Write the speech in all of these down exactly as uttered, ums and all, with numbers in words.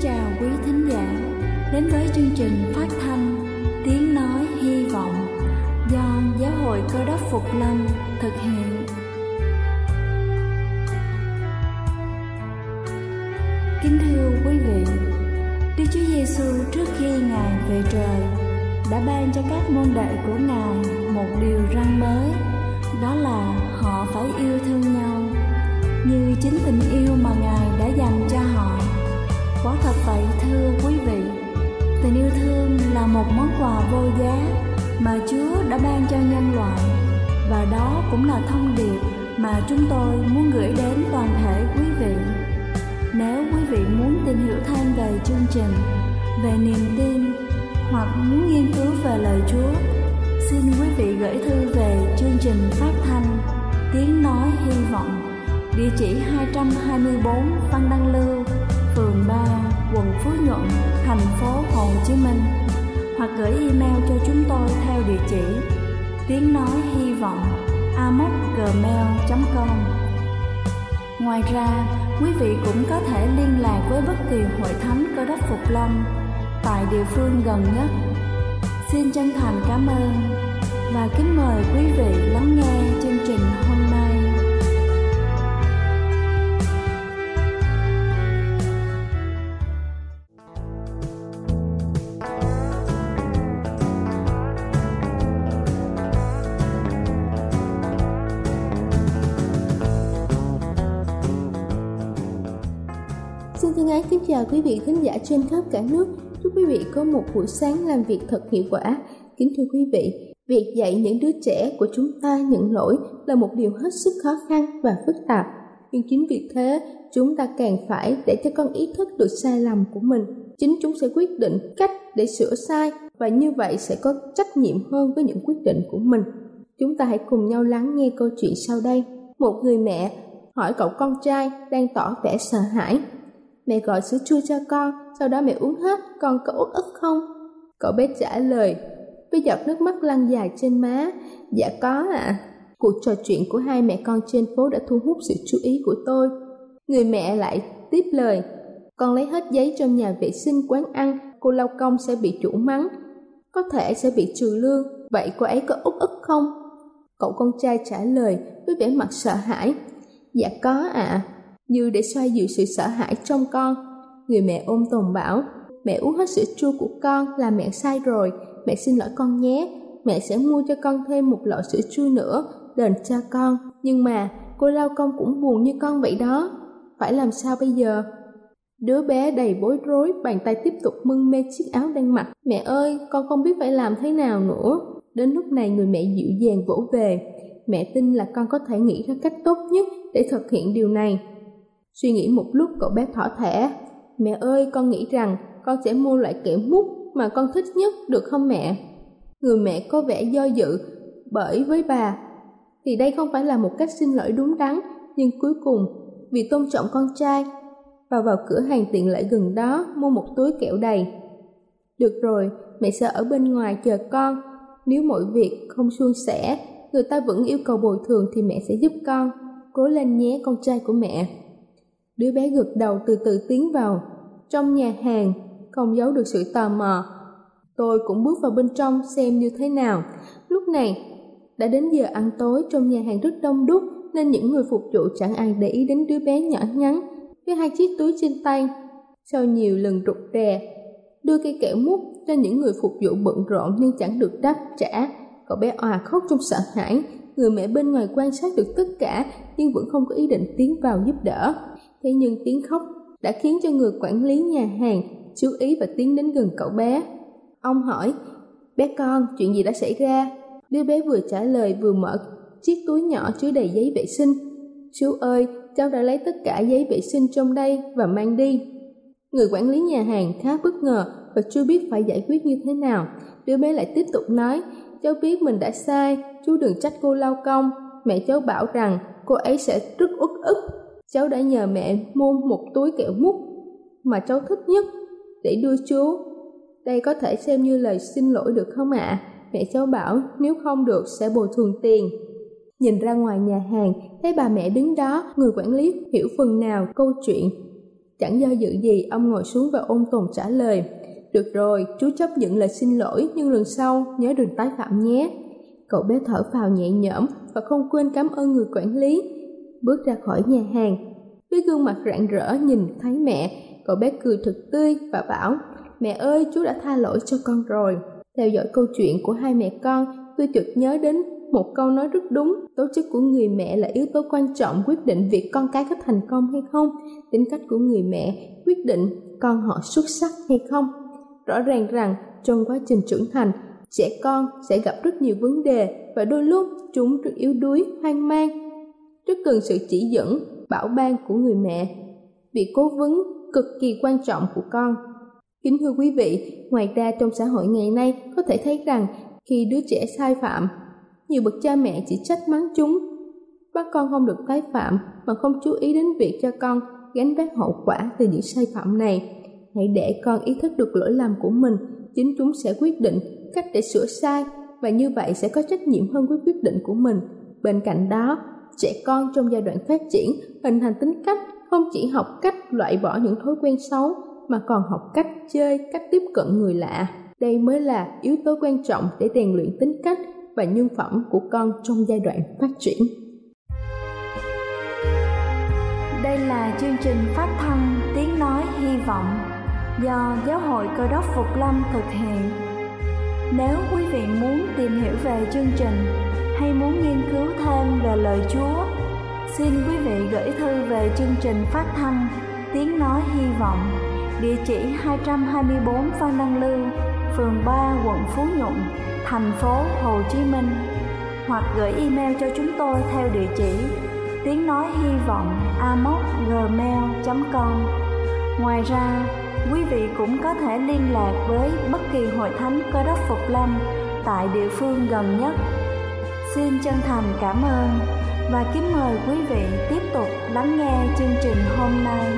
chào quý thính giả đến với chương trình phát thanh Tiếng Nói Hy Vọng do Giáo hội Cơ Đốc Phục Lâm thực hiện. Kính thưa quý vị, Đức Chúa Giêsu trước khi Ngài về trời đã ban cho các môn đệ của Ngài một điều răn mới, đó là họ phải yêu thương nhau như chính tình yêu mà Ngài đã dành cho họ. Quả thật vậy thưa quý vị, tình yêu thương là một món quà vô giá mà Chúa đã ban cho nhân loại, và đó cũng là thông điệp mà chúng tôi muốn gửi đến toàn thể quý vị. Nếu quý vị muốn tìm hiểu thêm về chương trình, về niềm tin hoặc muốn nghiên cứu về lời Chúa, xin quý vị gửi thư về chương trình phát thanh Tiếng Nói Hy Vọng, địa chỉ hai trăm hai mươi tư Phan Đăng Lưu, phường ba, quận Phú Nhuận, thành phố Hồ Chí Minh, hoặc gửi email cho chúng tôi theo địa chỉ tiếng nói hy vọng a m o c gmail chấm com. Ngoài ra, quý vị cũng có thể liên lạc với bất kỳ hội thánh Cơ Đốc Phục Lâm tại địa phương gần nhất. Xin chân thành cảm ơn và kính mời quý vị lắng nghe chương trình hôm nay. Xin thân ái kính chào quý vị thính giả trên khắp cả nước. Chúc quý vị có một buổi sáng làm việc thật hiệu quả. Kính thưa quý vị, việc dạy những đứa trẻ của chúng ta nhận lỗi là một điều hết sức khó khăn và phức tạp. Nhưng chính vì thế, chúng ta càng phải để cho con ý thức được sai lầm của mình. Chính chúng sẽ quyết định cách để sửa sai, và như vậy sẽ có trách nhiệm hơn với những quyết định của mình. Chúng ta hãy cùng nhau lắng nghe câu chuyện sau đây. Một người mẹ hỏi cậu con trai đang tỏ vẻ sợ hãi: "Mẹ gọi sữa chua cho con, sau đó mẹ uống hết, con có uất ức không?" Cậu bé trả lời với giọt nước mắt lăn dài trên má: "Dạ có ạ." À. Cuộc trò chuyện của hai mẹ con trên phố đã thu hút sự chú ý của tôi. Người mẹ lại tiếp lời: "Con lấy hết giấy trong nhà vệ sinh quán ăn, cô lao công sẽ bị chủ mắng, có thể sẽ bị trừ lương, vậy cô ấy có uất ức không?" Cậu con trai trả lời với vẻ mặt sợ hãi: "Dạ có ạ." À. Như để xoa dịu sự sợ hãi trong con, người mẹ ôm tồn bảo: "Mẹ uống hết sữa chua của con là mẹ sai rồi, mẹ xin lỗi con nhé, mẹ sẽ mua cho con thêm một lọ sữa chua nữa, đền cho con. Nhưng mà cô lao công cũng buồn như con vậy đó, phải làm sao bây giờ?" Đứa bé đầy bối rối, bàn tay tiếp tục mân mê chiếc áo đang mặc. "Mẹ ơi, con không biết phải làm thế nào nữa." Đến lúc này người mẹ dịu dàng vỗ về: "Mẹ tin là con có thể nghĩ ra cách tốt nhất để thực hiện điều này." Suy nghĩ một lúc, cậu bé thỏ thẻ: "Mẹ ơi, con nghĩ rằng con sẽ mua loại kẹo mút mà con thích nhất, được không mẹ?" Người mẹ có vẻ do dự, bởi với bà thì đây không phải là một cách xin lỗi đúng đắn, nhưng cuối cùng vì tôn trọng con trai, bà vào cửa hàng tiện lợi gần đó mua một túi kẹo đầy. "Được rồi, mẹ sẽ ở bên ngoài chờ con. Nếu mọi việc không suôn sẻ, người ta vẫn yêu cầu bồi thường thì mẹ sẽ giúp con. Cố lên nhé con trai của mẹ." Đứa bé gật đầu, từ từ tiến vào trong nhà hàng, không giấu được sự tò mò. Tôi cũng bước vào bên trong xem như thế nào. Lúc này đã đến giờ ăn tối, trong nhà hàng rất đông đúc nên những người phục vụ chẳng ai để ý đến đứa bé nhỏ nhắn với hai chiếc túi trên tay. Sau nhiều lần rụt rè đưa cây kẹo mút cho những người phục vụ bận rộn nhưng chẳng được đáp trả, cậu bé òa khóc trong sợ hãi. Người mẹ bên ngoài quan sát được tất cả nhưng vẫn không có ý định tiến vào giúp đỡ. Thế nhưng tiếng khóc đã khiến cho người quản lý nhà hàng chú ý và tiến đến gần cậu bé. Ông hỏi: "Bé con, chuyện gì đã xảy ra?" Đứa bé vừa trả lời vừa mở chiếc túi nhỏ chứa đầy giấy vệ sinh. "Chú ơi, cháu đã lấy tất cả giấy vệ sinh trong đây và mang đi." Người quản lý nhà hàng khá bất ngờ và chưa biết phải giải quyết như thế nào. Đứa bé lại tiếp tục nói: "Cháu biết mình đã sai, chú đừng trách cô lao công. Mẹ cháu bảo rằng cô ấy sẽ rất uất ức. Cháu đã nhờ mẹ mua một túi kẹo mút mà cháu thích nhất để đưa chú. Đây có thể xem như lời xin lỗi được không ạ?" À? Mẹ cháu bảo nếu không được sẽ bồi thường tiền. Nhìn ra ngoài nhà hàng, thấy bà mẹ đứng đó, người quản lý hiểu phần nào câu chuyện. Chẳng do dự gì, ông ngồi xuống và ôn tồn trả lời. Được rồi, chú chấp nhận lời xin lỗi, nhưng lần sau nhớ đừng tái phạm nhé. Cậu bé thở phào nhẹ nhõm và không quên cảm ơn người quản lý. Bước ra khỏi nhà hàng, với gương mặt rạng rỡ nhìn thấy mẹ, cậu bé cười thật tươi và bảo: Mẹ ơi, chú đã tha lỗi cho con rồi. Theo dõi câu chuyện của hai mẹ con, tôi chợt nhớ đến một câu nói rất đúng: tố chất của người mẹ là yếu tố quan trọng quyết định việc con cái có thành công hay không. Tính cách của người mẹ quyết định con họ xuất sắc hay không. Rõ ràng rằng trong quá trình trưởng thành, trẻ con sẽ gặp rất nhiều vấn đề và đôi lúc chúng rất yếu đuối, hoang mang, rất cần sự chỉ dẫn, bảo ban của người mẹ. Việc cố vấn cực kỳ quan trọng của con. Kính thưa quý vị, ngoài ra trong xã hội ngày nay có thể thấy rằng khi đứa trẻ sai phạm, nhiều bậc cha mẹ chỉ trách mắng chúng, bắt con không được tái phạm mà không chú ý đến việc cho con gánh vác hậu quả từ những sai phạm này. Hãy để con ý thức được lỗi lầm của mình, chính chúng sẽ quyết định cách để sửa sai, và như vậy sẽ có trách nhiệm hơn với quyết định của mình. Bên cạnh đó, trẻ con trong giai đoạn phát triển hình thành tính cách không chỉ học cách loại bỏ những thói quen xấu mà còn học cách chơi, cách tiếp cận người lạ. Đây mới là yếu tố quan trọng để rèn luyện tính cách và nhân phẩm của con trong giai đoạn phát triển. Đây là chương trình phát thanh Tiếng Nói Hy Vọng do Giáo hội Cơ đốc Phục Lâm thực hiện. Nếu quý vị muốn tìm hiểu về chương trình hay muốn nghiên cứu thêm về lời Chúa, xin quý vị gửi thư về chương trình phát thanh Tiếng Nói Hy Vọng, địa chỉ hai trăm hai mươi bốn Phan Đăng Lưu, phường ba, quận Phú Nhuận, thành phố Hồ Chí Minh, hoặc gửi email cho chúng tôi theo địa chỉ tiếng nói hy vọng a m o s gmail chấm com. Ngoài ra, quý vị cũng có thể liên lạc với bất kỳ hội thánh Cơ đốc Phục Lâm tại địa phương gần nhất. Xin chân thành cảm ơn và kính mời quý vị tiếp tục lắng nghe chương trình hôm nay.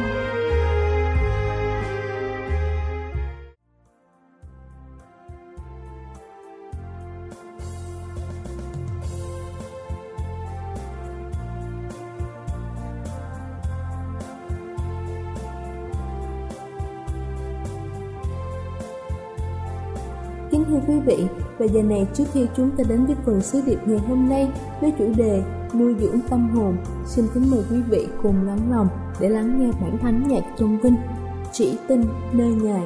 Kính thưa quý vị, và giờ này trước khi chúng ta đến với phần sứ điệp ngày hôm nay với chủ đề nuôi dưỡng tâm hồn, xin kính mời quý vị cùng lắng lòng để lắng nghe bản thánh nhạc tôn vinh Chỉ tin nơi Ngài.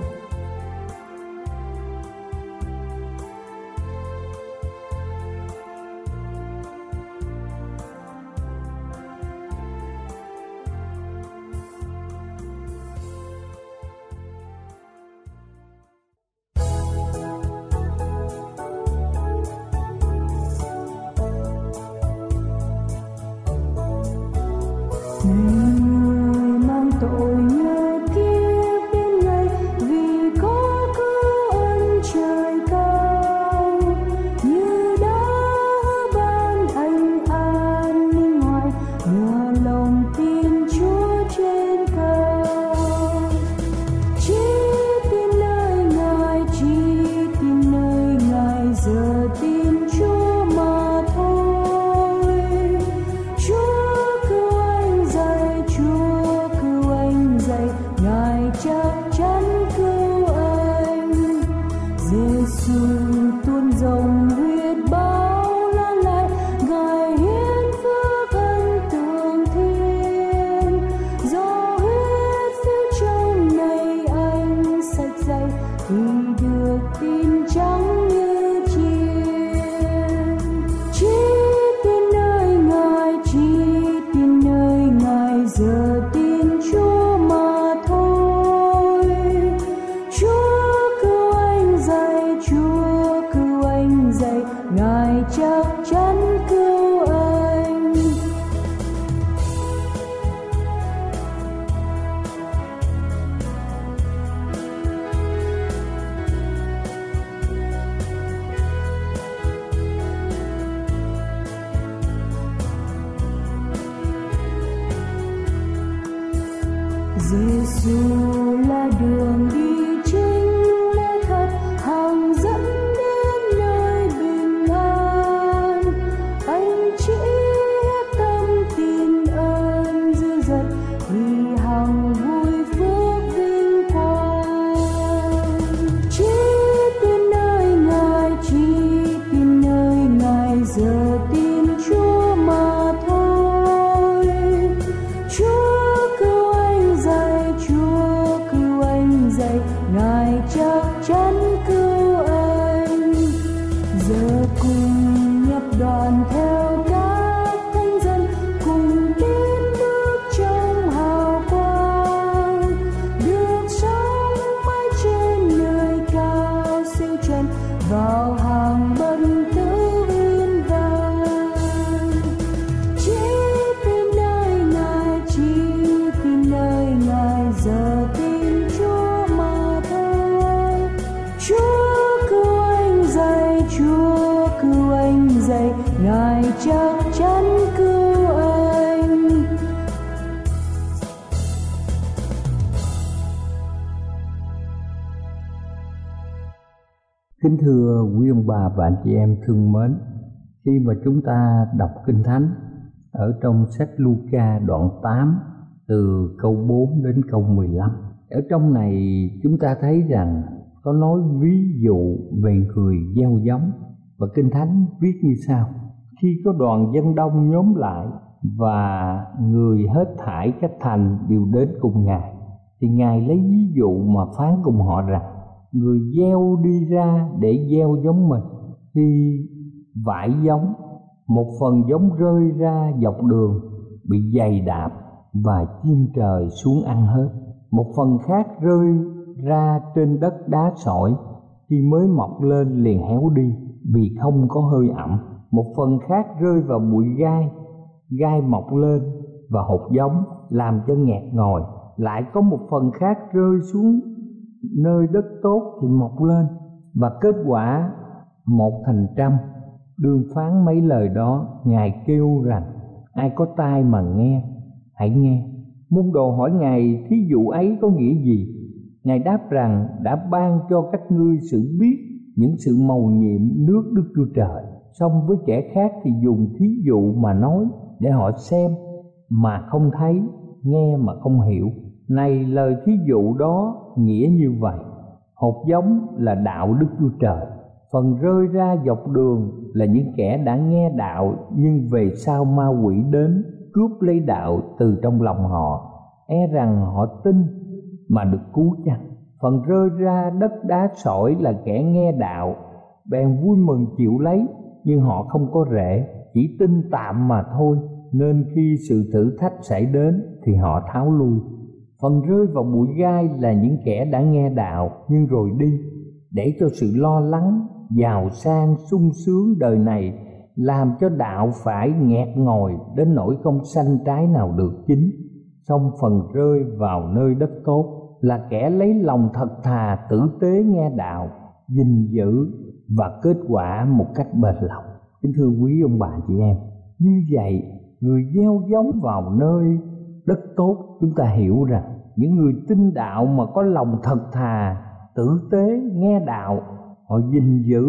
Người mang tội nhớ kiếp đến ngày, vì có cứu ân trời cao, như đã ban anh an ninh ngoài, nhờ lòng tin Chúa trên cao. Chỉ tin nơi Ngài, chỉ tin nơi Ngài, giờ tin Chúa mà thôi. Chúa Ngài chắc chắn cứu anh. Giê-xu tuôn dòng huyết bao la lại, Ngài hiến phước ân tường thiên. Do huyết phiếu trong này anh sạch dày, thì được tin trắng như chiên. Chỉ tin nơi Ngài, chỉ tin nơi Ngài, giờ tin Chúa mà thôi. Chúa cứu anh dạy, Chúa cứu anh dạy, Ngài chắc chắn cứu anh. Giê-xu là đường đi chính, lẽ thật hàng dẫn đến nơi bình an. Anh chỉ hết tâm tin ơn dư dật, thì hằng vui phước Kính thưa quý ông bà và anh chị em thương mến, khi mà chúng ta đọc Kinh Thánh ở trong sách Luca đoạn tám từ câu bốn đến câu mười lăm, ở trong này chúng ta thấy rằng có nói ví dụ về người gieo giống, và Kinh Thánh viết như sau: khi có đoàn dân đông nhóm lại và người hết thảy các thành đều đến cùng Ngài, thì Ngài lấy ví dụ mà phán cùng họ rằng: người gieo đi ra để gieo giống mình, khi vải giống, một phần giống rơi ra dọc đường bị giày đạp và chim trời xuống ăn hết. Một phần khác rơi ra trên đất đá sỏi, khi mới mọc lên liền héo đi vì không có hơi ẩm. Một phần khác rơi vào bụi gai, gai mọc lên và hột giống làm cho nghẹt ngòi. Lại có một phần khác rơi xuống nơi đất tốt thì mọc lên và kết quả một thành trăm. Đương phán mấy lời đó, Ngài kêu rằng: ai có tai mà nghe, hãy nghe. Môn đồ hỏi Ngài thí dụ ấy có nghĩa gì? Ngài đáp rằng: đã ban cho các ngươi sự biết những sự mầu nhiệm nước Đức Chúa Trời. Song với kẻ khác thì dùng thí dụ mà nói, để họ xem mà không thấy, nghe mà không hiểu. Này, lời thí dụ đó nghĩa như vậy: hột giống là đạo Đức Chúa Trời. Phần rơi ra dọc đường là những kẻ đã nghe đạo, nhưng về sau ma quỷ đến cướp lấy đạo từ trong lòng họ, e rằng họ tin mà được cứu chăng. Phần rơi ra đất đá sỏi là kẻ nghe đạo, bèn vui mừng chịu lấy, nhưng họ không có rễ, chỉ tin tạm mà thôi, nên khi sự thử thách xảy đến thì họ tháo lui. Phần rơi vào bụi gai là những kẻ đã nghe đạo nhưng rồi đi, để cho sự lo lắng, giàu sang, sung sướng đời này làm cho đạo phải nghẹt ngòi đến nỗi không sanh trái nào được chín. Xong phần rơi vào nơi đất tốt là kẻ lấy lòng thật thà, tử tế nghe đạo, gìn giữ và kết quả một cách bền lòng. Kính thưa quý ông bà chị em, như vậy người gieo giống vào nơi đất tốt, chúng ta hiểu rằng những người tin đạo mà có lòng thật thà, tử tế nghe đạo, họ gìn giữ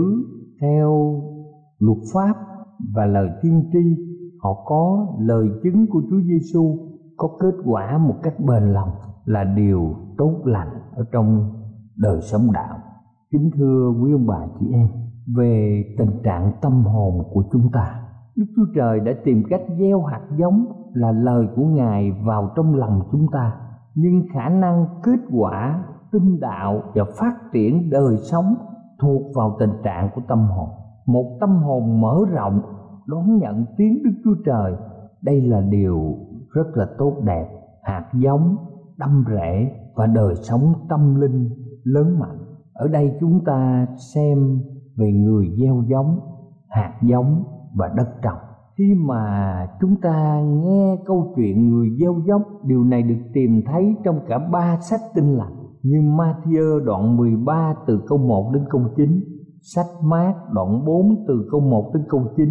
theo luật pháp và lời tiên tri, họ có lời chứng của Chúa Giêsu, có kết quả một cách bền lòng, là điều tốt lành ở trong đời sống đạo. Kính thưa quý ông bà chị em, về tình trạng tâm hồn của chúng ta, Đức Chúa Trời đã tìm cách gieo hạt giống là lời của Ngài vào trong lòng chúng ta, nhưng khả năng kết quả tin đạo và phát triển đời sống thuộc vào tình trạng của tâm hồn. Một tâm hồn mở rộng đón nhận tiếng Đức Chúa Trời, đây là điều rất là tốt đẹp. Hạt giống đâm rễ và đời sống tâm linh lớn mạnh. Ở đây chúng ta xem về người gieo giống, hạt giống và đất trồng. Khi mà chúng ta nghe câu chuyện người gieo giống, điều này được tìm thấy trong cả ba sách Tin Lành, như Ma-thi-ơ đoạn mười ba từ câu một đến câu chín, sách Mát đoạn bốn từ câu một đến câu chín,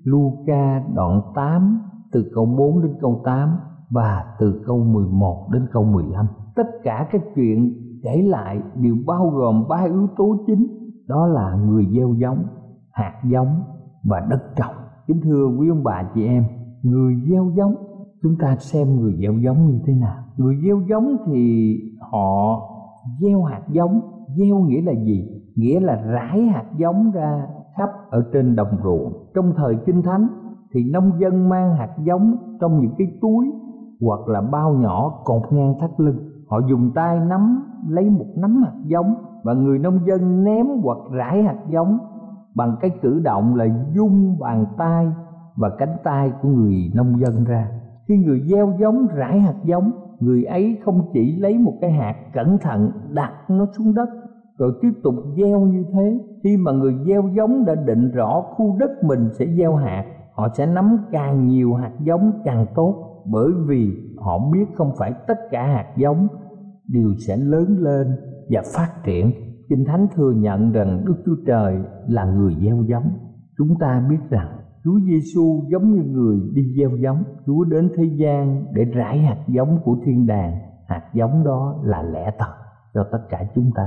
Luca đoạn tám từ câu bốn đến câu tám và từ câu mười một đến câu mười lăm. Tất cả các chuyện kể lại đều bao gồm ba yếu tố chính, đó là người gieo giống, hạt giống và đất trồng. Kính thưa quý ông bà chị em, người gieo giống, chúng ta xem người gieo giống như thế nào. Người gieo giống thì họ gieo hạt giống. Gieo nghĩa là gì? Nghĩa là rải hạt giống ra khắp ở trên đồng ruộng. Trong thời Kinh Thánh thì nông dân mang hạt giống trong những cái túi hoặc là bao nhỏ cột ngang thắt lưng. Họ dùng tay nắm lấy một nắm hạt giống, và người nông dân ném hoặc rải hạt giống bằng cái cử động là vung bàn tay và cánh tay của người nông dân ra. Khi người gieo giống rải hạt giống, người ấy không chỉ lấy một cái hạt cẩn thận đặt nó xuống đất rồi tiếp tục gieo như thế. Khi mà người gieo giống đã định rõ khu đất mình sẽ gieo hạt, họ sẽ nắm càng nhiều hạt giống càng tốt, bởi vì họ biết không phải tất cả hạt giống đều sẽ lớn lên và phát triển. Kinh Thánh thừa nhận rằng Đức Chúa Trời là người gieo giống. Chúng ta biết rằng Chúa Giêsu giống như người đi gieo giống. Chúa đến thế gian để rải hạt giống của thiên đàng. Hạt giống đó là lẽ thật cho tất cả chúng ta.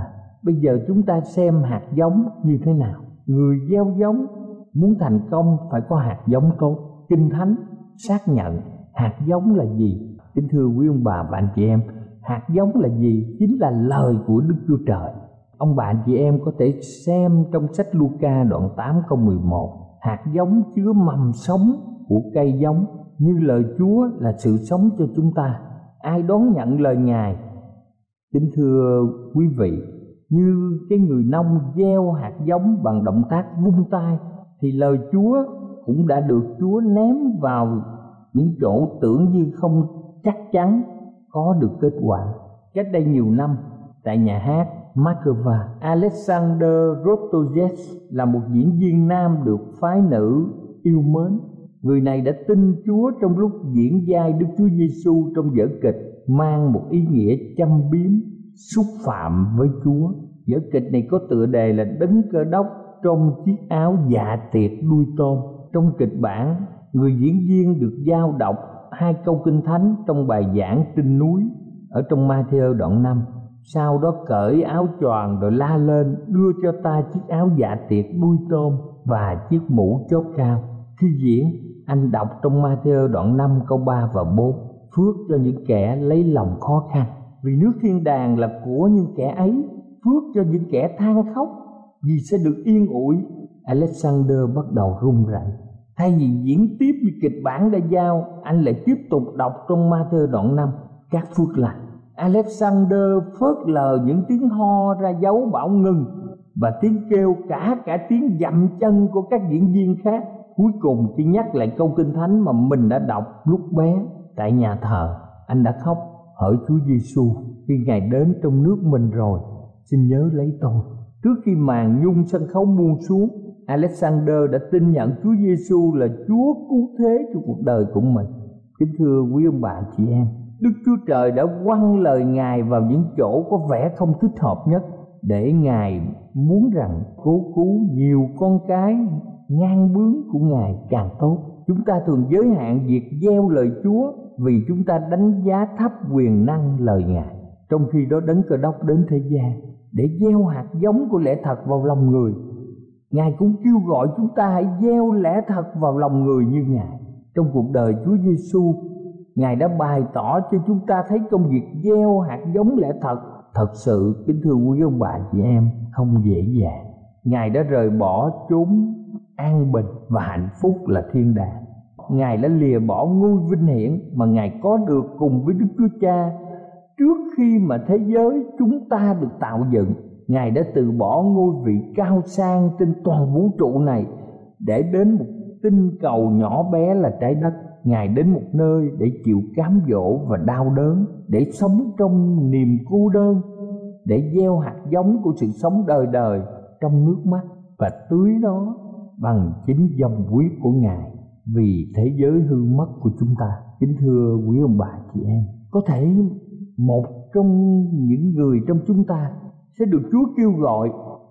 Bây giờ chúng ta xem hạt giống như thế nào. Người gieo giống muốn thành công phải có hạt giống tốt. Kinh Thánh xác nhận hạt giống là gì? Kính thưa quý ông bà và anh chị em, hạt giống là gì? Chính là lời của Đức Chúa Trời. Ông bà anh chị em có thể xem trong sách Luca đoạn tám câu mười một. Hạt giống chứa mầm sống của cây giống, như lời Chúa là sự sống cho chúng ta. Ai đón nhận lời Ngài? Kính thưa quý vị, như cái người nông gieo hạt giống bằng động tác vung tay, thì lời Chúa cũng đã được Chúa ném vào những chỗ tưởng như không chắc chắn có được kết quả. Cách đây nhiều năm, tại nhà hát Moscow, Alexander Rostozhev là một diễn viên nam được phái nữ yêu mến. Người này đã tin Chúa trong lúc diễn vai Đức Chúa Giêsu trong vở kịch mang một ý nghĩa châm biếm, xúc phạm với Chúa. Vở kịch này có tựa đề là Đấng Cơ Đốc trong chiếc áo dạ tiệc đuôi tôm. Trong kịch bản, người diễn viên được giao đọc hai câu kinh thánh trong bài giảng trên núi ở trong Ma-thi-ơ đoạn năm. Sau đó cởi áo choàng rồi la lên: đưa cho ta chiếc áo dạ tiệc đuôi tôm và chiếc mũ chóp cao. Khi diễn, anh đọc trong Ma-thi-ơ đoạn năm câu ba và bốn: phước cho những kẻ lấy lòng khó khăn, vì nước thiên đàng là của những kẻ ấy. Phước cho những kẻ than khóc, vì sẽ được yên ủi. Alexander bắt đầu run rẩy. Thay vì diễn tiếp như kịch bản đã giao, anh lại tiếp tục đọc trong Ma-thi-ơ đoạn năm các phước lành. Alexander phớt lờ những tiếng ho ra dấu bảo ngừng và tiếng kêu, cả cả tiếng dậm chân của các diễn viên khác. Cuối cùng khi nhắc lại câu kinh thánh mà mình đã đọc lúc bé tại nhà thờ, anh đã khóc hỡi Chúa Giêsu, khi Ngài đến trong nước mình rồi, xin nhớ lấy tôi. Trước khi màn nhung sân khấu buông xuống, Alexander đã tin nhận Chúa Giêsu là Chúa cứu thế cho cuộc đời của mình. Kính thưa quý ông bà chị em, Đức Chúa Trời đã quăng lời Ngài vào những chỗ có vẻ không thích hợp nhất, để Ngài muốn rằng cố cứu nhiều con cái ngang bướng của Ngài càng tốt. Chúng ta thường giới hạn việc gieo lời Chúa vì chúng ta đánh giá thấp quyền năng lời Ngài, trong khi đó Đấng Cơ Đốc đến thế gian để gieo hạt giống của lẽ thật vào lòng người. Ngài cũng kêu gọi chúng ta hãy gieo lẽ thật vào lòng người như Ngài. Trong cuộc đời Chúa Giêsu, Ngài đã bày tỏ cho chúng ta thấy công việc gieo hạt giống lẽ thật thật sự, kính thưa quý ông bà chị em, không dễ dàng. Ngài đã rời bỏ chốn an bình và hạnh phúc là thiên đàng. Ngài đã lìa bỏ ngôi vinh hiển mà Ngài có được cùng với Đức Chúa Cha trước khi mà thế giới chúng ta được tạo dựng. Ngài đã từ bỏ ngôi vị cao sang trên toàn vũ trụ này để đến một tinh cầu nhỏ bé là trái đất. Ngài đến một nơi để chịu cám dỗ và đau đớn, để sống trong niềm cô đơn, để gieo hạt giống của sự sống đời đời trong nước mắt và tưới nó bằng chính dòng huyết của Ngài vì thế giới hư mất của chúng ta. Kính thưa quý ông bà chị em, có thể một trong những người trong chúng ta sẽ được Chúa kêu gọi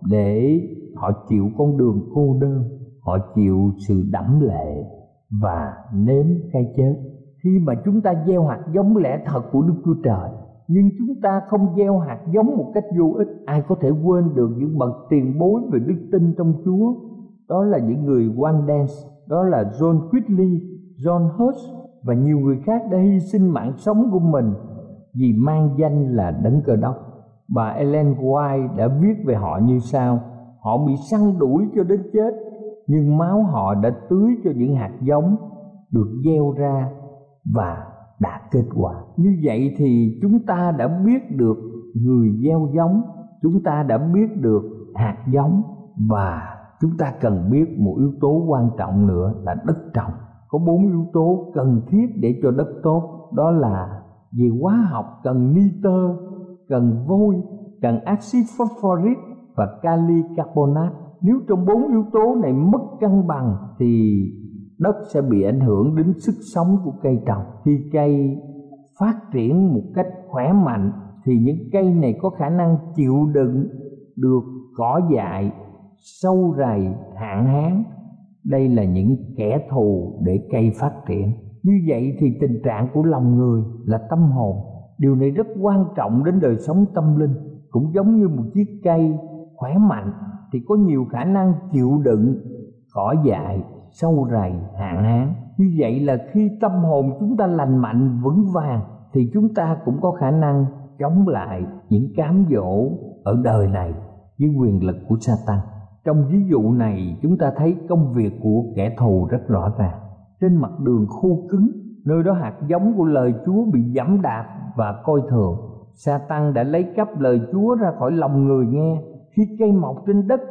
để họ chịu con đường cô đơn, họ chịu sự đẫm lệ và nếm cái chết. Khi mà chúng ta gieo hạt giống lẽ thật của Đức Chúa Trời, nhưng chúng ta không gieo hạt giống một cách vô ích, ai có thể quên được những bậc tiền bối về đức tin trong Chúa? Đó là những người Walden, đó là John Quigley, John Hus và nhiều người khác đã hy sinh mạng sống của mình vì mang danh là Đấng Cơ Đốc. Bà Ellen White đã viết về họ như sau: họ bị săn đuổi cho đến chết, nhưng máu họ đã tưới cho những hạt giống được gieo ra và đã kết quả. Như vậy thì chúng ta đã biết được người gieo giống, chúng ta đã biết được hạt giống, và chúng ta cần biết một yếu tố quan trọng nữa là đất trồng. Có bốn yếu tố cần thiết để cho đất tốt, đó là về hóa học cần nitơ, cần vôi, cần axit phosphoric và kali carbonate. Nếu trong bốn yếu tố này mất cân bằng thì đất sẽ bị ảnh hưởng đến sức sống của cây trồng. Khi cây phát triển một cách khỏe mạnh thì những cây này có khả năng chịu đựng được cỏ dại, sâu rầy, hạn hán. Đây là những kẻ thù để cây phát triển. Như vậy thì tình trạng của lòng người là tâm hồn. Điều này rất quan trọng đến đời sống tâm linh. cũng giống như một chiếc cây khỏe mạnh thì có nhiều khả năng chịu đựng cỏ dại, sâu rầy, hạn hán. Như vậy là khi tâm hồn chúng ta lành mạnh, vững vàng thì chúng ta cũng có khả năng chống lại những cám dỗ ở đời này với quyền lực của Sa-tan. Trong ví dụ này chúng ta thấy công việc của kẻ thù rất rõ ràng. Trên mặt đường khô cứng, nơi đó hạt giống của lời Chúa bị giẫm đạp và coi thường. Sa-tan đã lấy cắp lời Chúa ra khỏi lòng người nghe. Khi cây mọc trên đất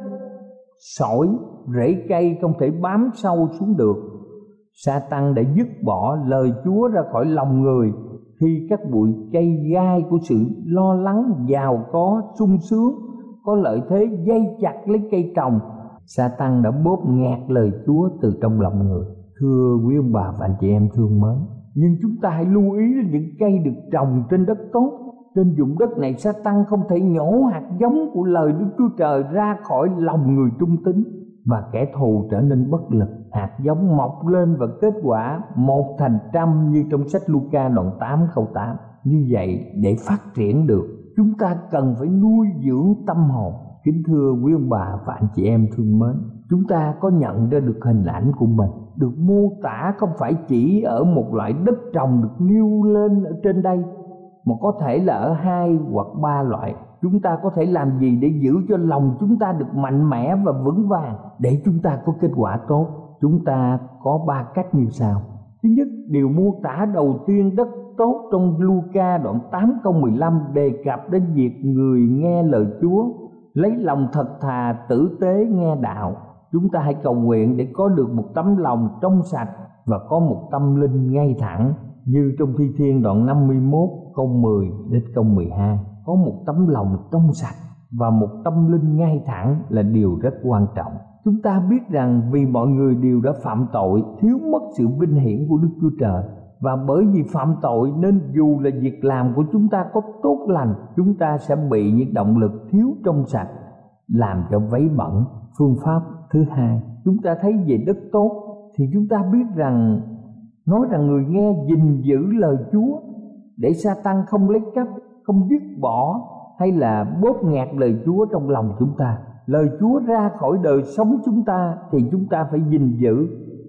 sỏi, rễ cây không thể bám sâu xuống được. Sa-tan đã dứt bỏ lời Chúa ra khỏi lòng người khi các bụi cây gai của sự lo lắng, giàu có, sung sướng, có lợi thế dây chặt lấy cây trồng. Sa-tan đã bóp nghẹt lời Chúa từ trong lòng người. Thưa quý ông bà và anh chị em thương mến, nhưng chúng ta hãy lưu ý đến những cây được trồng trên đất tốt. Trên vùng đất này Sa-tan không thể nhổ hạt giống của lời Đức Chúa Trời ra khỏi lòng người trung tín, và kẻ thù trở nên bất lực. Hạt giống mọc lên và kết quả một thành trăm, như trong sách Luca đoạn tám câu tám. Như vậy để phát triển được, chúng ta cần phải nuôi dưỡng tâm hồn. Kính thưa quý ông bà và anh chị em thương mến, chúng ta có nhận ra được hình ảnh của mình được mô tả không phải chỉ ở một loại đất trồng được nêu lên ở trên đây, mà có thể là ở hai hoặc ba loại. Chúng ta có thể làm gì để giữ cho lòng chúng ta được mạnh mẽ và vững vàng để chúng ta có kết quả tốt? Chúng ta có ba cách như sau. Thứ nhất, điều mô tả đầu tiên đất tốt trong Luca đoạn tám câu mười lăm đề cập đến việc người nghe lời Chúa lấy lòng thật thà tử tế nghe đạo. Chúng ta hãy cầu nguyện để có được một tấm lòng trong sạch và có một tâm linh ngay thẳng, như trong Thi Thiên đoạn năm mươi mốt câu mười đến câu mười hai. Có một tấm lòng trong sạch và một tâm linh ngay thẳng là điều rất quan trọng. Chúng ta biết rằng vì mọi người đều đã phạm tội, thiếu mất sự vinh hiển của Đức Chúa Trời, và bởi vì phạm tội nên dù là việc làm của chúng ta có tốt lành, chúng ta sẽ bị những động lực thiếu trong sạch làm cho váy bẩn. Phương pháp thứ hai, chúng ta thấy về đất tốt thì chúng ta biết rằng nói rằng người nghe gìn giữ lời Chúa để Sa-tan không lấy cắp, không dứt bỏ hay là bóp nghẹt lời Chúa trong lòng chúng ta. Lời Chúa ra khỏi đời sống chúng ta thì chúng ta phải gìn giữ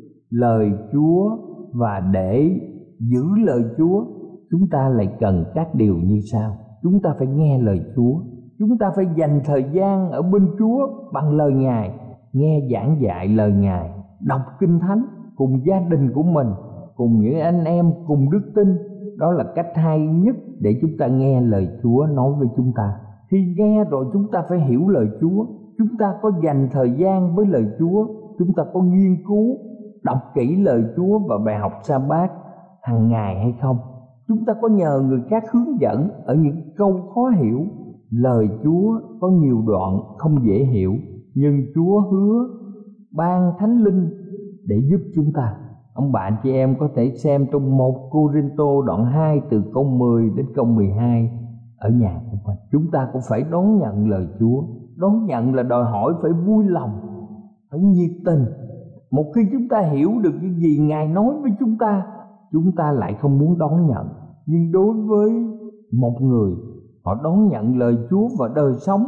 lời Chúa, và để giữ lời Chúa chúng ta lại cần các điều như sau. Chúng ta phải nghe lời Chúa, chúng ta phải dành thời gian ở bên Chúa bằng lời Ngài, nghe giảng dạy lời Ngài, đọc Kinh Thánh cùng gia đình của mình, cùng những anh em cùng đức tin. Đó là cách hay nhất để chúng ta nghe lời Chúa nói với chúng ta. Khi nghe rồi chúng ta phải hiểu lời Chúa. Chúng ta có dành thời gian với lời Chúa, chúng ta có nghiên cứu, đọc kỹ lời Chúa và bài học Sa-bát hàng ngày hay không? Chúng ta có nhờ người khác hướng dẫn ở những câu khó hiểu. Lời Chúa có nhiều đoạn không dễ hiểu, nhưng Chúa hứa ban Thánh Linh để giúp chúng ta. Ông bạn chị em có thể xem trong một Cô-rinh-tô đoạn hai từ câu mười đến câu mười hai ở nhà của mình. Chúng ta cũng phải đón nhận lời Chúa. Đón nhận là đòi hỏi phải vui lòng, phải nhiệt tình. Một khi chúng ta hiểu được những gì Ngài nói với chúng ta, chúng ta lại không muốn đón nhận. Nhưng đối với một người, họ đón nhận lời Chúa và đời sống,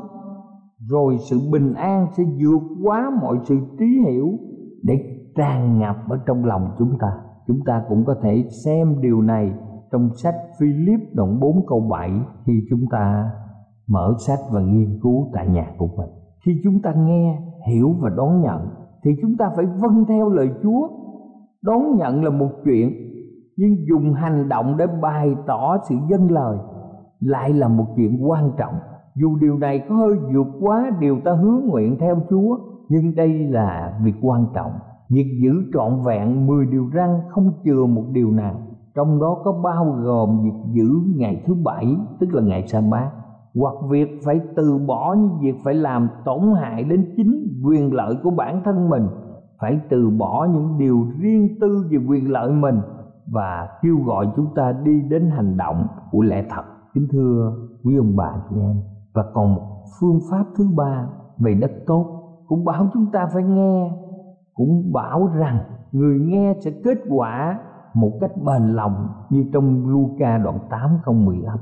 rồi sự bình an sẽ vượt quá mọi sự trí hiểu để tràn ngập ở trong lòng chúng ta. Chúng ta cũng có thể xem điều này trong sách Philip đoạn bốn câu bảy khi chúng ta mở sách và nghiên cứu tại nhà của mình. Khi chúng ta nghe, hiểu và đón nhận thì chúng ta phải vâng theo lời Chúa. Đón nhận là một chuyện, nhưng dùng hành động để bày tỏ sự vâng lời lại là một chuyện quan trọng. Dù điều này có hơi vượt quá điều ta hứa nguyện theo Chúa, nhưng đây là việc quan trọng. Việc giữ trọn vẹn mười điều răn không chừa một điều nào, trong đó có bao gồm việc giữ ngày thứ bảy, tức là ngày Sa-bát, hoặc việc phải từ bỏ những việc phải làm tổn hại đến chính quyền lợi của bản thân mình, phải từ bỏ những điều riêng tư về quyền lợi mình, và kêu gọi chúng ta đi đến hành động của lẽ thật. Kính thưa quý ông bà chị em, và còn một phương pháp thứ ba về đất tốt cũng bảo chúng ta phải nghe, cũng bảo rằng người nghe sẽ kết quả một cách bền lòng, như trong Luca đoạn tám câu mười lăm.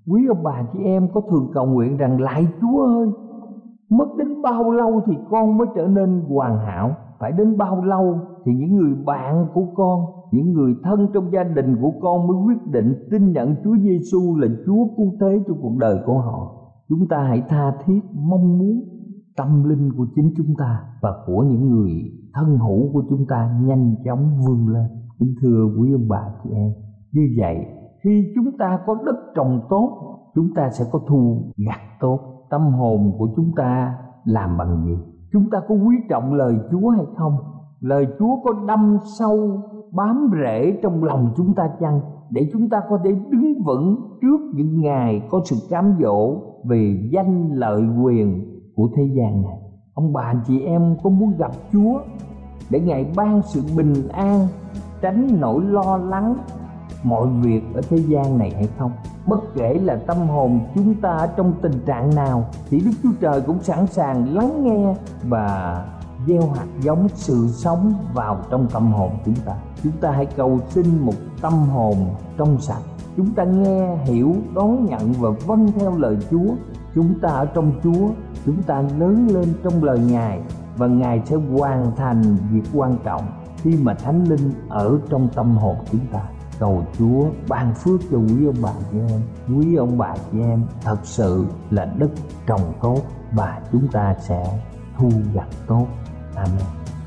Quý ông bà chị em có thường cầu nguyện rằng: lạy Chúa ơi, mất đến bao lâu thì con mới trở nên hoàn hảo? Phải đến bao lâu thì những người bạn của con, những người thân trong gia đình của con mới quyết định tin nhận Chúa Giêsu là Chúa cứu thế cho cuộc đời của họ? Chúng ta hãy tha thiết mong muốn tâm linh của chính chúng ta và của những người thân hữu của chúng ta nhanh chóng vươn lên. Kính thưa quý ông bà chị em, như vậy khi chúng ta có đất trồng tốt, chúng ta sẽ có thu gặt tốt. Tâm hồn của chúng ta làm bằng gì? Chúng ta có quý trọng lời Chúa hay không? Lời Chúa có đâm sâu bám rễ trong lòng chúng ta chăng, để chúng ta có thể đứng vững trước những ngày có sự cám dỗ về danh lợi quyền của thế gian này? Ông bà chị em có muốn gặp Chúa để Ngài ban sự bình an, tránh nỗi lo lắng mọi việc ở thế gian này hay không? Bất kể là tâm hồn chúng ta ở trong tình trạng nào thì Đức Chúa Trời cũng sẵn sàng lắng nghe và gieo hạt giống sự sống vào trong tâm hồn chúng ta. Chúng ta hãy cầu xin một tâm hồn trong sạch. Chúng ta nghe, hiểu, đón nhận và vâng theo lời Chúa. Chúng ta ở trong Chúa, chúng ta lớn lên trong lời Ngài, và Ngài sẽ hoàn thành việc quan trọng khi mà Thánh Linh ở trong tâm hồn chúng ta. Cầu Chúa ban phước cho quý ông bà chị em. Quý ông bà chị em thật sự là đất trồng tốt và chúng ta sẽ thu gặt tốt. Amen.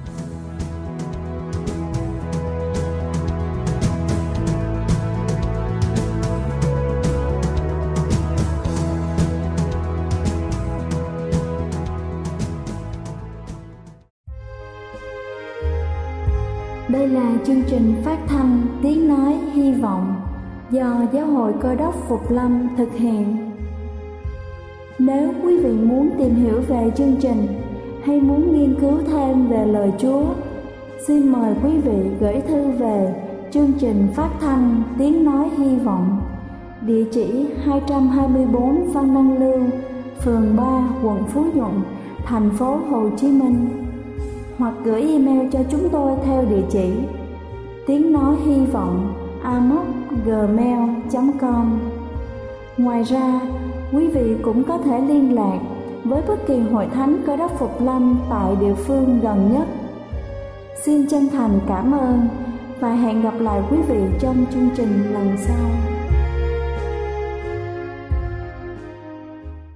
Đây là chương trình phát thanh Tiếng Nói Hy Vọng do Giáo hội Cơ đốc Phục Lâm thực hiện. Nếu quý vị muốn tìm hiểu về chương trình hay muốn nghiên cứu thêm về lời Chúa, xin mời quý vị gửi thư về chương trình phát thanh Tiếng Nói Hy Vọng, địa chỉ hai trăm hai mươi bốn Văn Đăng Lưu, phường ba, quận Phú Nhuận, thành phố Hồ Chí Minh, hoặc gửi email cho chúng tôi theo địa chỉ tiếng nói hy vọng a m o c gmail chấm com. Ngoài ra, quý vị cũng có thể liên lạc với bất kỳ hội thánh Cơ đốc Phục Lâm tại địa phương gần nhất. Xin chân thành cảm ơn và hẹn gặp lại quý vị trong chương trình lần sau.